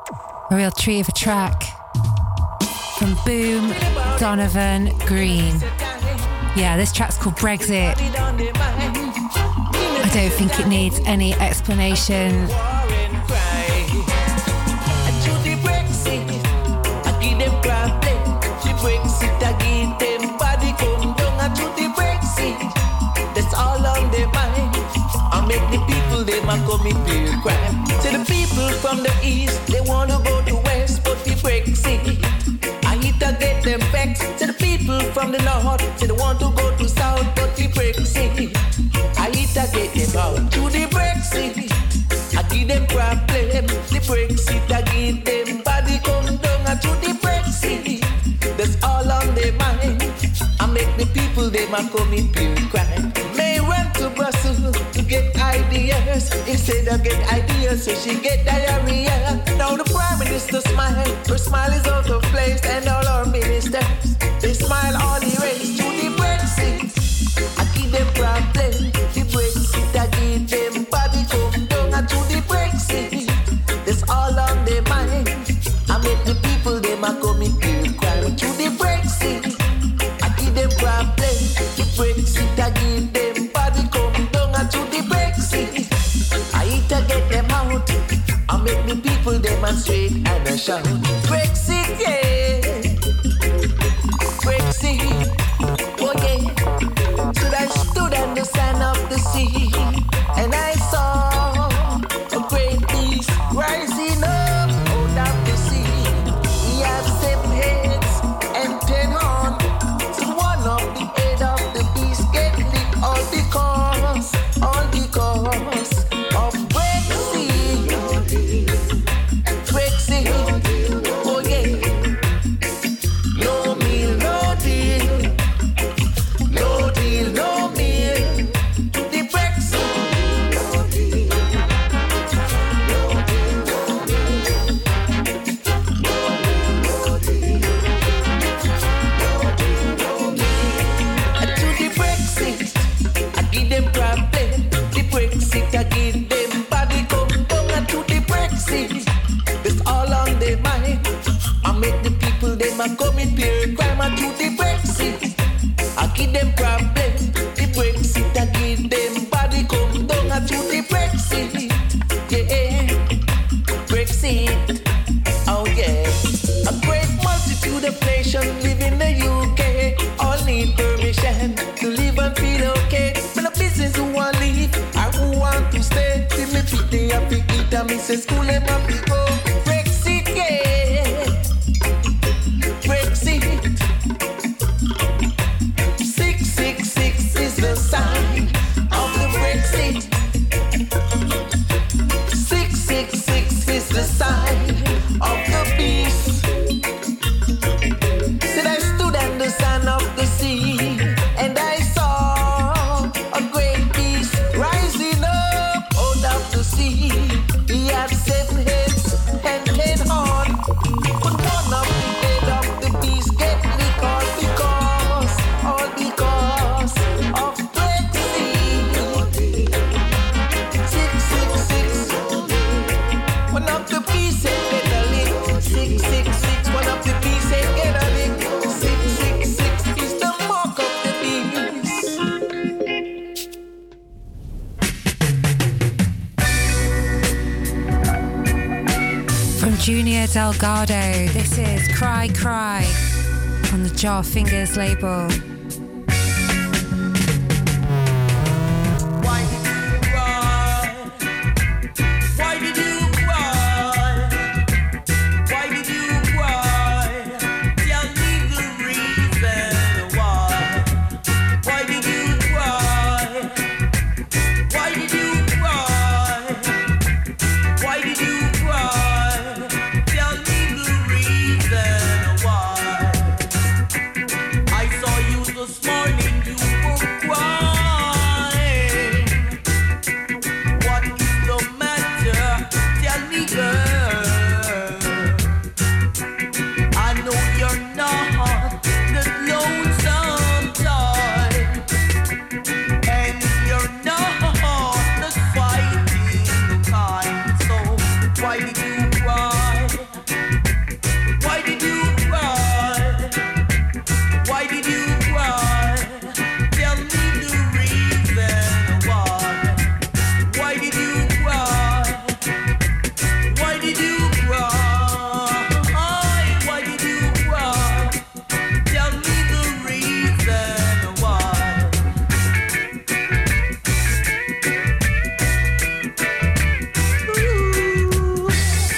a real treat of a track from Boom, Donovan, Green. Yeah, this track's called Brexit. I don't think it needs any explanation. That's all on their mind. I make the people they might come in feel crime. To the people from the from the north, say they want to go to south, but the Brexit, I hit to get them out. To the Brexit, I give them problem. The Brexit, I give them body come down. And to the Brexit, that's all on their mind. I make the people, they might commit pure crime. May went to Brussels to get ideas. Instead of get ideas, so she get diarrhea. Now the Prime Minister smile, her smile is out of place. And all our ministers, they smile all the race. To the Brexit, I give them problem. The Brexit, I give them body come down. And to the Brexit, that's all on their mind. I make the people, they might commit pure crime. To the Brexit, I give them problem. The Brexit, I give them body come down. And to the Brexit, I hit to get them out. I make the people demonstrate and I shout. Brexit, yeah. Brexit, oh yeah. So I stood on the sand of the sea, and I saw a great beast rising up out of the sea. He had 7 heads and 10 horns. So one of the head of the beast get licked all because of Brexit. Brexit, oh yeah. No meal, no deal. No deal, no meal. The Brexit. No deal, no deal, no deal. No deal, no deal. And to the Brexit, I give them problem. The Brexit, I give them body come down. And to the Brexit, it's all on their mind. I make the people, they might commit pure crime. And to the Brexit, I give them problem. The Brexit, I give them body come down. And to the Brexit, yeah, Brexit, oh yeah. A great multitude of nations live in the UK. All need permission to live and feel okay. But the business who want leave, or who want to stay. See me fit the happy eat and me say school and happy go. Brexit, yeah. Brexit. 666 is the sign of the Brexit. 666 is the sign of the beast. Said I stood on the sand of the sea, and I saw a great beast rising up out of the sea. He had 7 heads and 10 horns, but one of the head of the beast get licked all because of Brexit. 666. One of the beasts get a lick. 666. One of the beasts get a lick. 666 is the mark of the beast. From Junior Delgado, this is Cry Cry on the Jar Fingers label. Why did you cry? Why did you cry? Why did you cry? Tell me the reason why. Why did you cry? Why did you cry? Why did you cry? Tell me the reason why. I saw you this morning, you were crying. What is the matter? Tell me, girl. I know you're not the lonesome type, and you're not the fighting kind. So why did you cry? Why did you cry? Why did you cry? Tell me the reason why. Why did you cry? Why did you cry? Why did you cry? Tell me the reason why. Ooh.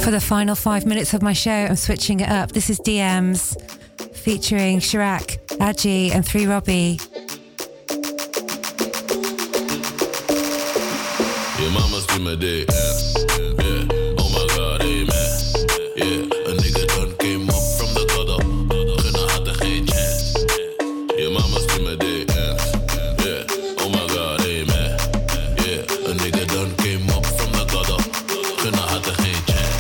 For the final 5 minutes of my show, I'm switching it up. This is DMs featuring Chirac, Adji, and 3 Robbie. Your mama's give me the yeah. Oh my God, amen. Yeah, a nigga done came up from the gutter. Gunna had er geen chance. Your mama's give me the yeah. Oh my God, amen. Yeah, a nigga done came up from the gutter. Gunna had er geen chance.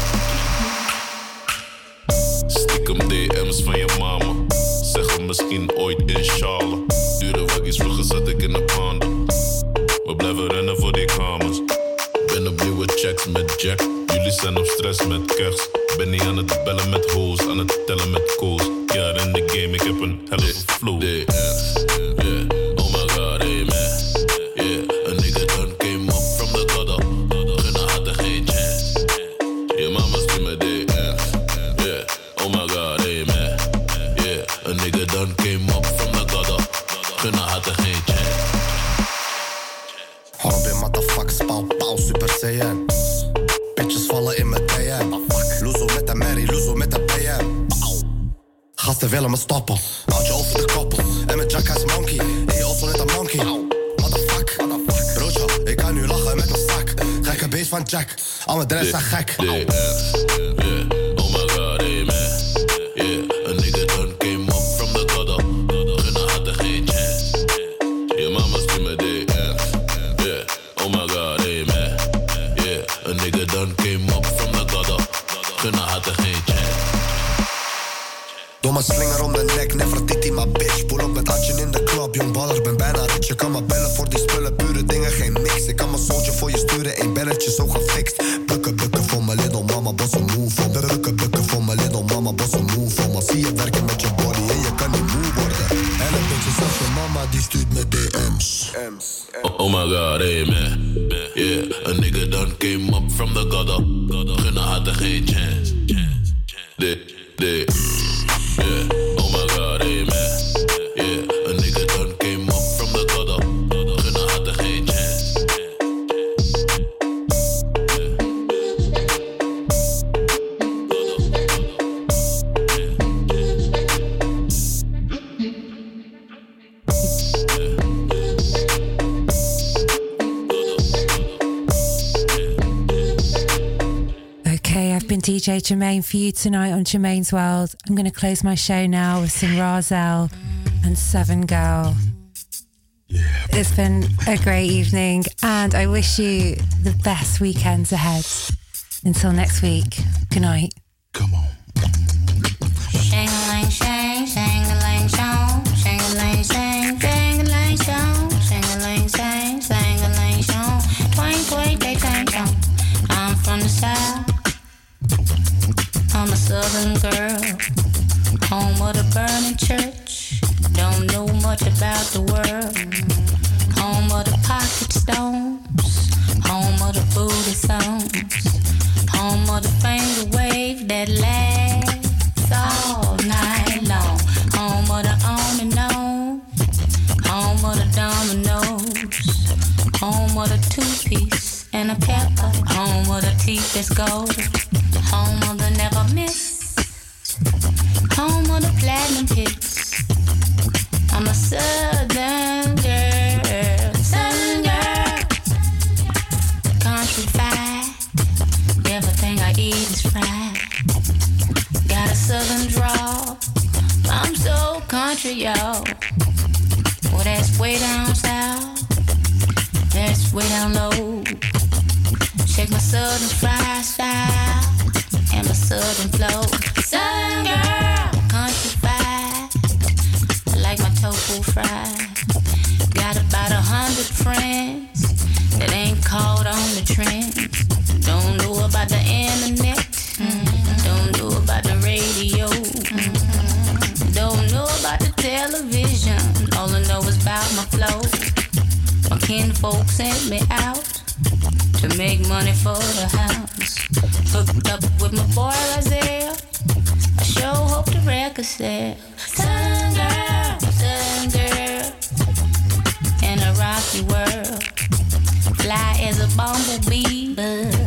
Stiekem DM's van je mama. Zeggen misschien ooit inshallah. Dure waggies, vroeger zat ik in de panden. We blijven rennen voor die kamers. Ben op nieuwe checks met Jack. Jullie zijn op stress met kerst. Ben niet aan het bellen met hoes, aan het tellen met koos. Ja, in de game, ik heb een helle flow. Yeah, oh my God, amen. Yeah, a nigga done came up from the gutter. Gunna had er geen chance. Your mama's give me the yeah, oh my God, amen. Yeah, a nigga done came up from the gutter. Gunna had er geen chance. Robin, motherfuckers, pauw, pauw, super saiyan. Bitches vallen in mijn DM. Loezo met de Mary, Loezo met de PM. Gasten willen me stoppen. Houd je over de koppel. En mijn jack is monkey. En je also net een monkey. Motherfuck. Broodje, ik kan nu lachen met mijn zak. Gekke beest van Jack. Al mijn dress zijn gek. Yeah, oh my God, amen. Yeah, a nigga done came up from the gutter. Gunna had er geen chance. Your mama's give me the yeah, oh my God, amen. Yeah, a nigga done came up from the gutter. Gunna had er geen chance. Domme slinger om de nek, Nefertiti, maar bitch. Pull op met Atje in de club, jong baller, ben bijna rich. Je kan me bellen voor die spullen, pure dingen, geen mix. Ik kan mijn soultje voor je sturen, 1 belletje zo gefixt. Bukken, bukken voor mijn little mama, boss een move on. Bukken, bukken voor mijn little mama, boss een move on. Maar zie je werken met je body en je kan niet moe worden. En een beetje zelfs je mama, die stuurt met DM's. Oh my God, amen. Yeah, a nigga done came up from the gutter. Gunna had er geen chance. Yeah, oh my God, amen. Yeah, a nigga done came up from the gutter. Gunna had er geen chance. I've been DJ Jermaine for you tonight on Jermaine's World. I'm going to close my show now with some Razel and Seven Girl. Yeah. It's been a great evening and I wish you the best weekends ahead. Until next week, good night. Shang-a-lang, shang, shang-a-lang, shang, shang-a-lang, shang, shang-a-lang, shang, shang-a-lang, shang, shang-a-lang, shang, twang, twang, day, twang, twang. I'm from the south. I'm a southern girl, home of the burning church. Don't know much about the world. Home of the pocket stones, home of the booty songs, home of the finger wave that lasts all night long. Home of the on and on, home of the dominoes, home of the 2-piece and a pepper, home of the teeth that's gold. Home of the never miss, home of the platinum hits. I'm a southern girl, southern girl. Country fried, everything I eat is fried. Got a southern drawl, I'm so country, y'all. Well, that's way down south, that's way down low. Check my southern fried style and my southern flow. Southern girl, country fried, I like my tofu fried. Got about 100 friends that ain't caught on the trend. Don't know about the internet, don't know about the radio, don't know about the television. All I know is about my flow. My kinfolk sent me out to make money for the house. Hooked up with my boy Isaiah, I sure hope the record sell. Southern girl, in a rocky world. Fly as a bumblebee, but